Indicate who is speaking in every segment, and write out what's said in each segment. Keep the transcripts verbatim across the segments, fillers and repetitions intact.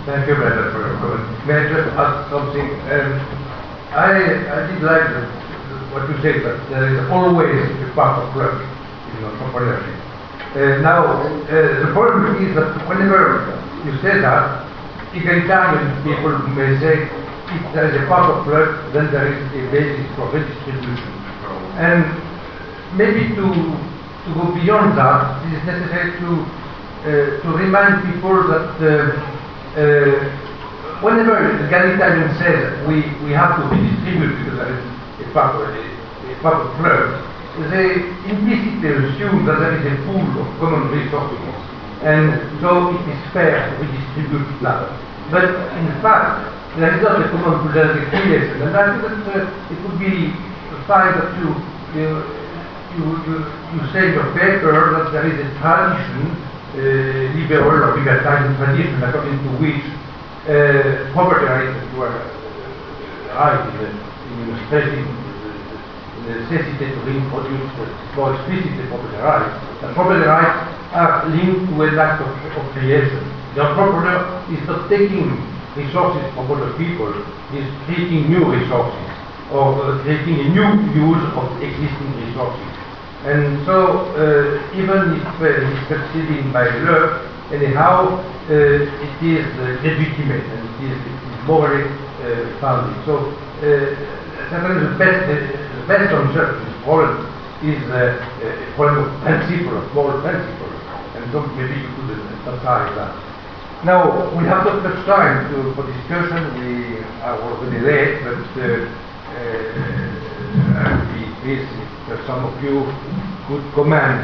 Speaker 1: Thank you, Brenda, for your comment. May I just add something? Um, I, I did like the, what you said, that there is always a part of luck in entrepreneurship. Uh, now, uh, the problem is that whenever you say that, egalitarian people may say if there is a part of luck, then there is a basis for redistribution. And maybe to, to go beyond that, it is necessary to, uh, to remind people that uh, uh, whenever egalitarian says we, we have to redistribute because there is a part of, a, a part of luck, they implicitly assume that there is a pool of common resources, and so it is fair to redistribute that. But in fact, there is not a common pool, there is a creation, and I think that uh, it would be fine that you, you, you, you, you say in your paper that there is a tradition, uh, liberal or libertarian tradition, according to which uh, property rights were right in, in stressing necessity to reintroduce more explicitly property rights. And property rights are linked to an act of, of creation. The entrepreneur is not taking resources from other people, he is creating new resources, or uh, creating a new use of existing resources. And so, uh, even if uh, he's succeeding by luck, anyhow, uh, it is uh, legitimate and it is, it is morally uh, founded. So, uh, certainly the best, the, the best answer to this problem is uh, a problem of principle, of moral principle, and so maybe you could emphasize that. Now, we have not much time to, for discussion. We are already late, but uh, uh, I'll be pleased if some of you could comment.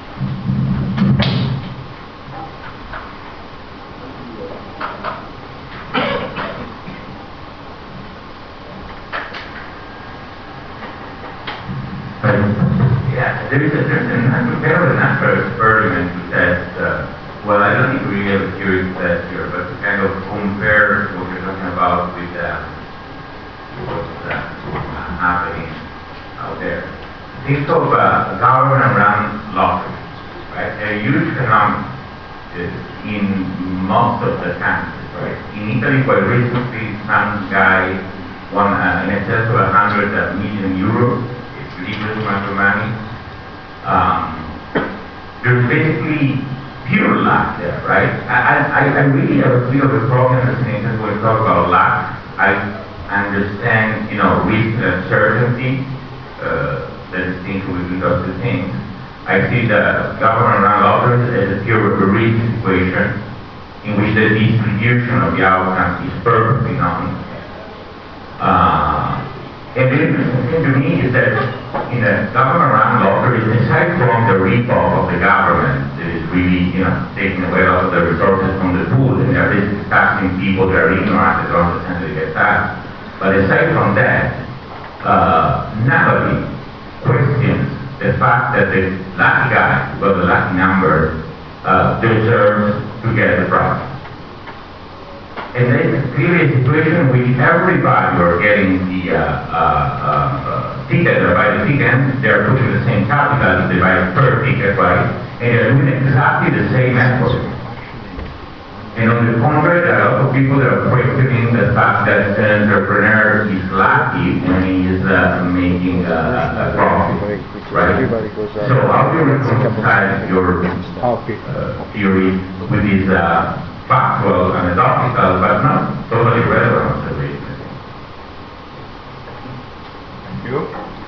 Speaker 2: Yeah, there is a certain, there was an experiment which says, uh, well, I don't think we really have a theory test here, but to kind of compare what you're talking about with uh, what's uh, happening out there. Think of uh, government-run lotteries, right? They're a huge phenomenon uh, in most of the countries, right? In Italy, quite recently, some guy won uh, in excess of one hundred million euros. It's ridiculous amount of money. Um, there's basically pure luck there, right? I, I, I really have a bit of a problem in when we talk about luck. I understand, you know, risk and uncertainty, uh, that is linked with those two things. I see the government-run lotteries as a pure risk situation in which the distribution of the outcomes is perfectly known. Uh, And the interesting thing to me is that in the government-run lotteries, aside from the rip-off of the government that is really, you know, taking away a lot of the resources from the pool, and they're basically taxing people that are ignorant that don't essentially get taxed. But aside from that, uh, nobody questions the fact that the lucky guy who got the lucky number uh, deserves to get the prize. And then it's clearly a situation in which everybody who are getting the uh, uh, uh, ticket, or buy the ticket, they're putting the same capital, they buy per ticket, right? And they're doing exactly the same effort. And on the contrary, there are a lot of people that are questioning the fact that an entrepreneur is lucky when he is uh, making uh, a profit, right? So how do you reconcile your uh, theory with these uh, factual, anecdotal, but not totally relevant observations?
Speaker 1: Thank you.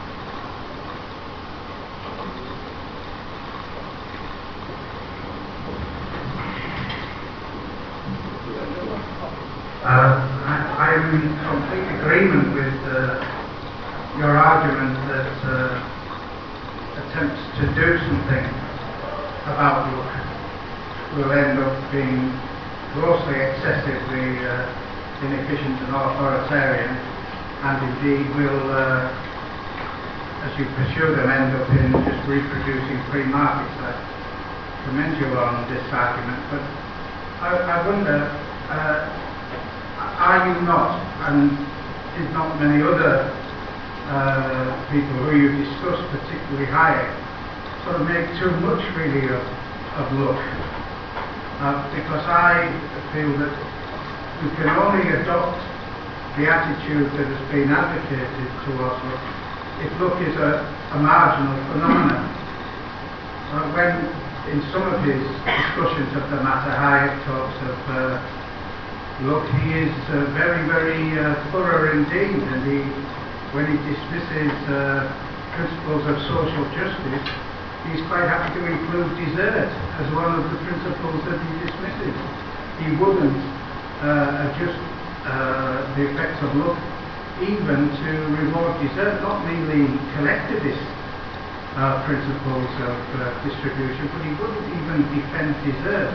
Speaker 3: Uh, I, I'm in complete agreement with uh, your argument that uh, attempts to do something about luck will end up being grossly excessively uh, inefficient and authoritarian, and indeed will, uh, as you pursue them, end up in just reproducing free markets. I commend you on this argument, but I, I wonder, uh, are you not, and did not many other uh, people who you discussed, particularly Hayek, sort of make too much really of, of luck? Uh, because I feel that you can only adopt the attitude that has been advocated towards look if look is a, a marginal phenomenon. Uh, when in some of his discussions of the matter, Hayek talks of uh, look, he is uh, very, very uh, thorough indeed, and he, when he dismisses uh, principles of social justice, he's quite happy to include desert as one of the principles that he dismisses. He wouldn't uh, adjust uh, the effects of look even to reward desert, not merely collectivist uh, principles of uh, distribution, but he wouldn't even defend desert.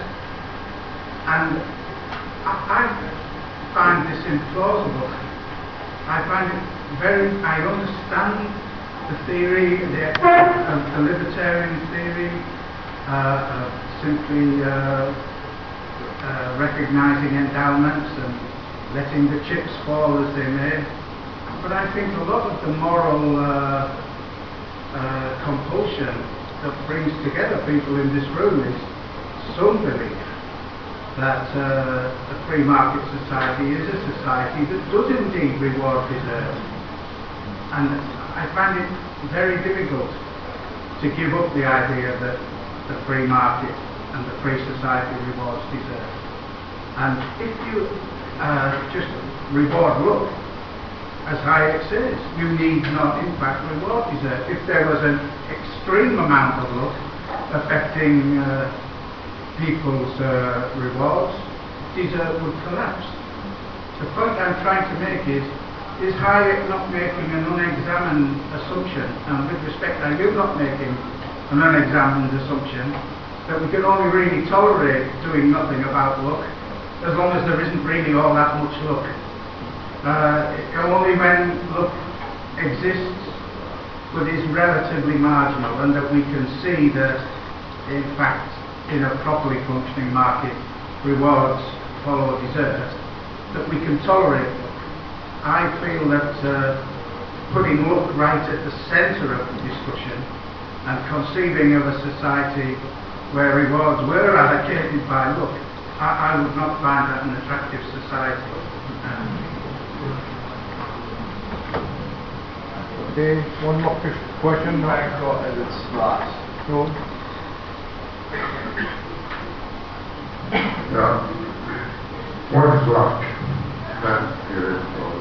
Speaker 3: And I, I find this implausible. I find it very, I understand the theory, the, uh, the libertarian theory, uh, of simply uh, uh, recognizing endowments and letting the chips fall as they may. But I think a lot of the moral uh, uh, compulsion that brings together people in this room is some belief that uh, a free market society is a society that does indeed reward desert. And I find it very difficult to give up the idea that the free market and the free society rewards desert. And if you uh, just reward look, as Hayek says, you need not in fact reward desert. If there was an extreme amount of look affecting uh, people's uh, rewards, desert would collapse. The point I'm trying to make is, is Hayek not making an unexamined assumption, and with respect, are you not making an unexamined assumption that we can only really tolerate doing nothing about look as long as there isn't really all that much look? Uh, only when look exists but is relatively marginal, and that we can see that in fact in a properly functioning market rewards follow desert, that we can tolerate look. I feel that uh, putting look right at the centre of the discussion and conceiving of a society where rewards were allocated by look, I, I would not find that an attractive society. Um,
Speaker 1: Okay, one more question.
Speaker 4: Micro as it's not.
Speaker 1: No.
Speaker 5: Yeah. What is luck? That is,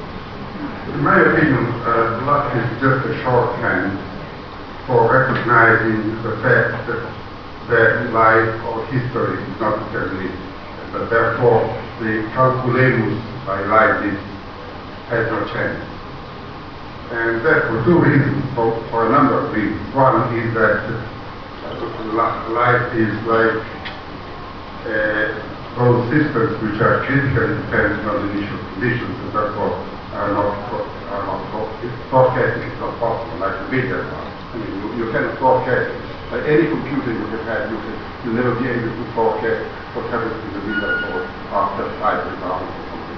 Speaker 5: in my opinion, uh, luck is just a shorthand for recognizing the fact that, that life or history is not deterministic, but therefore the calculamus by Leibniz has no chance. And that for two reasons, for, for a number of reasons. One is that uh, life is like uh, those systems which are critically dependent on initial conditions and therefore are not, are not forecasting is not possible, like the media. I mean, you, you cannot forecast, like any computer you have had, you can, you'll never be able to forecast what happens in the media for after five hundred hours.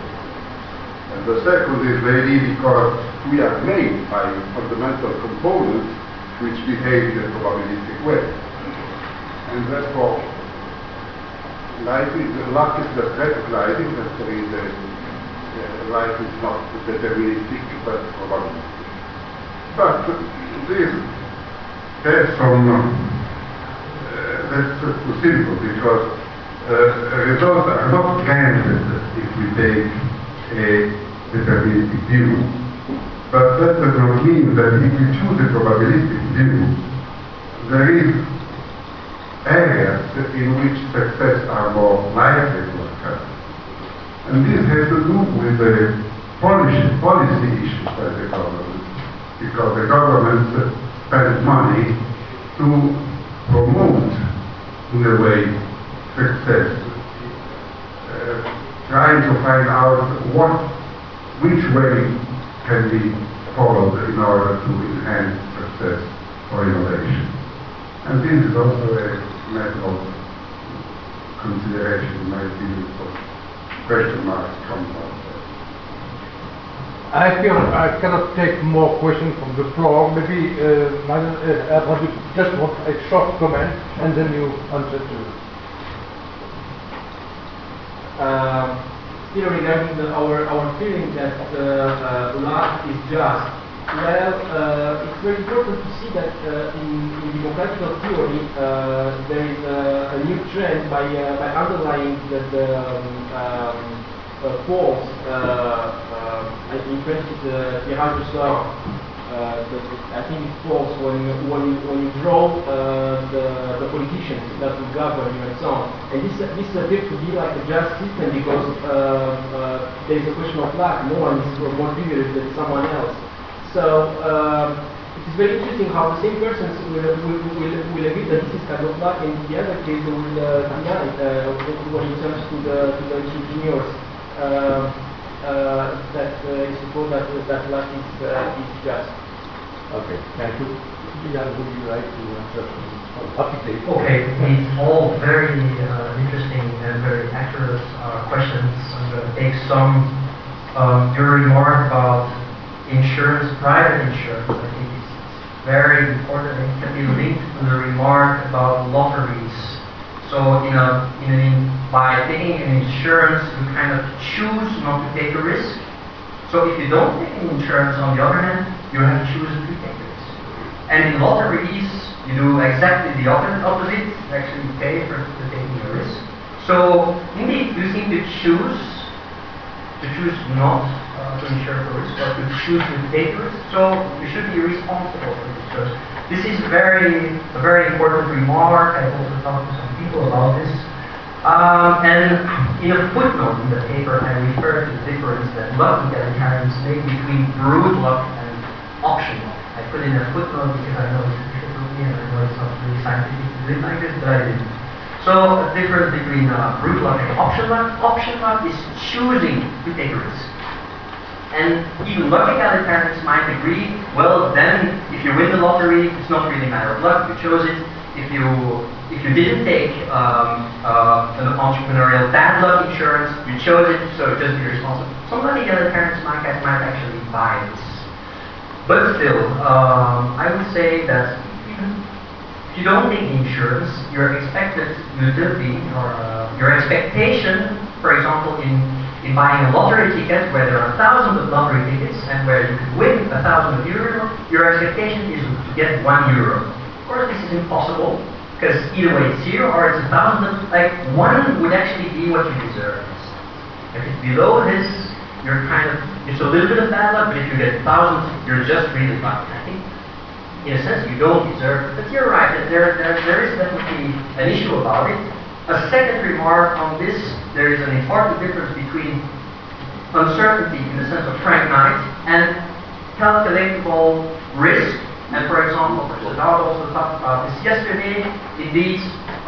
Speaker 5: And the second is maybe because we are made by fundamental components which behave in a probabilistic way. And therefore, life is, luck is just recognizing that there is a, uh, life is not deterministic but probabilistic. But this has some, uh, that's just too simple, because uh, results are not granted if we take a deterministic view, but that does not mean that if we choose a probabilistic view, there is areas in which success are more likely to occur. And this has to do with the policy, policy issues by the government, because the government spends money to promote, in a way, success, uh, trying to find out what which way can be followed in order to enhance success or innovation. And this is also a matter of consideration, in my opinion, for question marks comes out.
Speaker 1: I feel I cannot take more questions from the floor. Maybe uh, Madam, uh, I just want a short comment and then you answer to it.
Speaker 4: Um,
Speaker 6: still regarding the, our our feeling that uh, uh, luck is just. Well, uh, it's very important to see that uh, in, in democratical theory uh, there is a, a new trend by uh, by underlying that the um, um, uh, polls. Uh, uh, in French, it's uh, tirage au sort. Uh, the, the, I think it falls when when you, when you draw uh, the the politicians that will govern you and so on. And this this appears to be like a just system because uh, uh, there is a question of luck. No one is more privileged than someone else. So um, it is very interesting how the same persons will, will, will, will agree that this is kind of luck, and in the other case they will uh, deny it uh, when it comes to the, to the engineers uh, uh, that uh, is suppose that, that luck is, uh, is just.
Speaker 1: Okay, thank you. Jan, would you like to answer on topic?
Speaker 7: Okay, it's all very uh, interesting and very accurate uh, questions. I'm going to take some um, your remark about insurance, private insurance. I think it's very important. It can be linked to the remark about lotteries. So, you know, in, by taking an insurance, you kind of choose not to take a risk. So, if you don't take an insurance, on the other hand, you have to choose to take a risk. And in lotteries, you do exactly the opposite. You actually pay for, for taking a risk. So, indeed, you seem to choose to choose not uh, to insure for risk, but to choose to take risk. So you should be responsible for this. So this is very a very important remark. I've also talked to some people about this. Um, and in a footnote in the paper, I refer to the difference that luck egalitarians make between brute luck and option luck. I put in a footnote because I know it's difficult for me and I know it's not really scientific to do it like this, but I didn't. So, a difference between uh, brute luck and option luck. Option luck is choosing to take a risk. And even luck egalitarians might agree, well, then, if you win the lottery, it's not really a matter of luck, you chose it. If you if you didn't take um, uh, an entrepreneurial bad luck insurance, you chose it, so just be responsible. Some luck egalitarians might, might actually buy this. But still, um, I would say that if you don't take insurance, your expected utility or uh, your expectation, for example, in, in buying a lottery ticket where there are thousands of lottery tickets and where you could win a thousand euro, your expectation is to get one euro. Of course, this is impossible because either way it's zero or it's a thousand. Like one would actually be what you deserve. If it's below this, you're kind of it's a little bit of bad luck, but if you get a thousand, you're just really lucky. I think. In a sense, you don't deserve it. But you're right, that there, there, there is definitely an issue about it. A second remark on this, there is an important difference between uncertainty in the sense of Frank Knight and calculatable risk. And for example, Professor Dowd also talked about this yesterday. Indeed,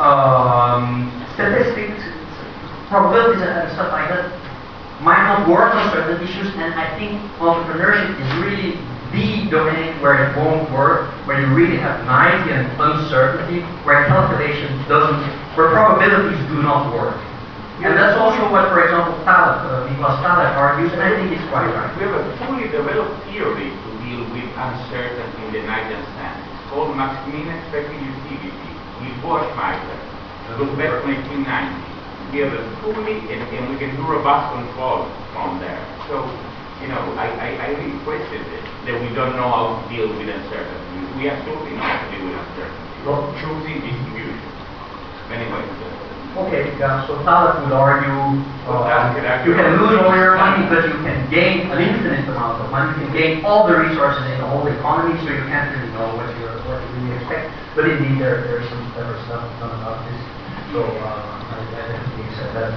Speaker 7: um, statistics, probabilities and stuff like that might not work on certain issues, and I think entrepreneurship is really the domain where it won't work, where you really have naivety and uncertainty, where calculation doesn't, where probabilities do not work. And that's also what, for example, Taleb, uh, Nicholas Taleb argues, and I think it's quite right.
Speaker 8: We have a fully developed theory to deal with uncertainty in the Knightian sense. It's called Maximum Expected Utility, with Boschmeister. Look back to nineteen ninety. We have a fully, and, and we can do robust control from there. So, you know, I, I, I really question it, that we don't know how to deal with uncertainty. We absolutely know how to deal with uncertainty.
Speaker 7: Well,
Speaker 8: choosing distribution. Anyway. Uh,
Speaker 7: okay, yeah, so Taleb would argue
Speaker 8: well,
Speaker 7: uh, you can lose all your money, but you can gain an infinite amount of money. You can gain all the resources in the whole economy, so you can't really know what, you're, what you really expect. But indeed, there, there's some clever stuff done about this. So uh, I, I definitely accept that.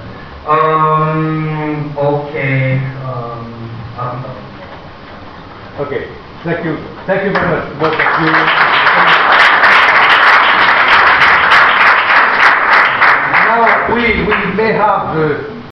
Speaker 7: Um, okay. Um, um,
Speaker 1: Okay, thank you. Thank you very much, both of you.